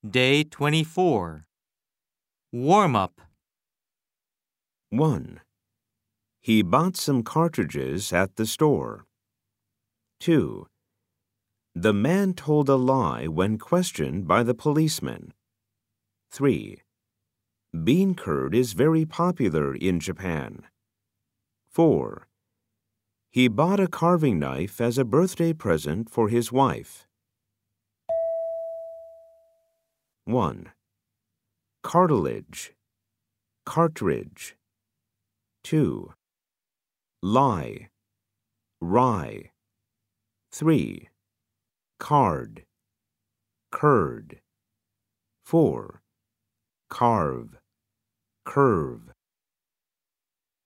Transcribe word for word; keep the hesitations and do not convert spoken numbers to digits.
Day twenty-four. Warm-up. one. He bought some cartridges at the store. two. The man told a lie when questioned by the policeman. three. Bean curd is very popular in Japan. four. He bought a carving knife as a birthday present for his wife. one. Cartilage, cartridge. two. Lie, rye. three. Card, curd. four. Carve, curve.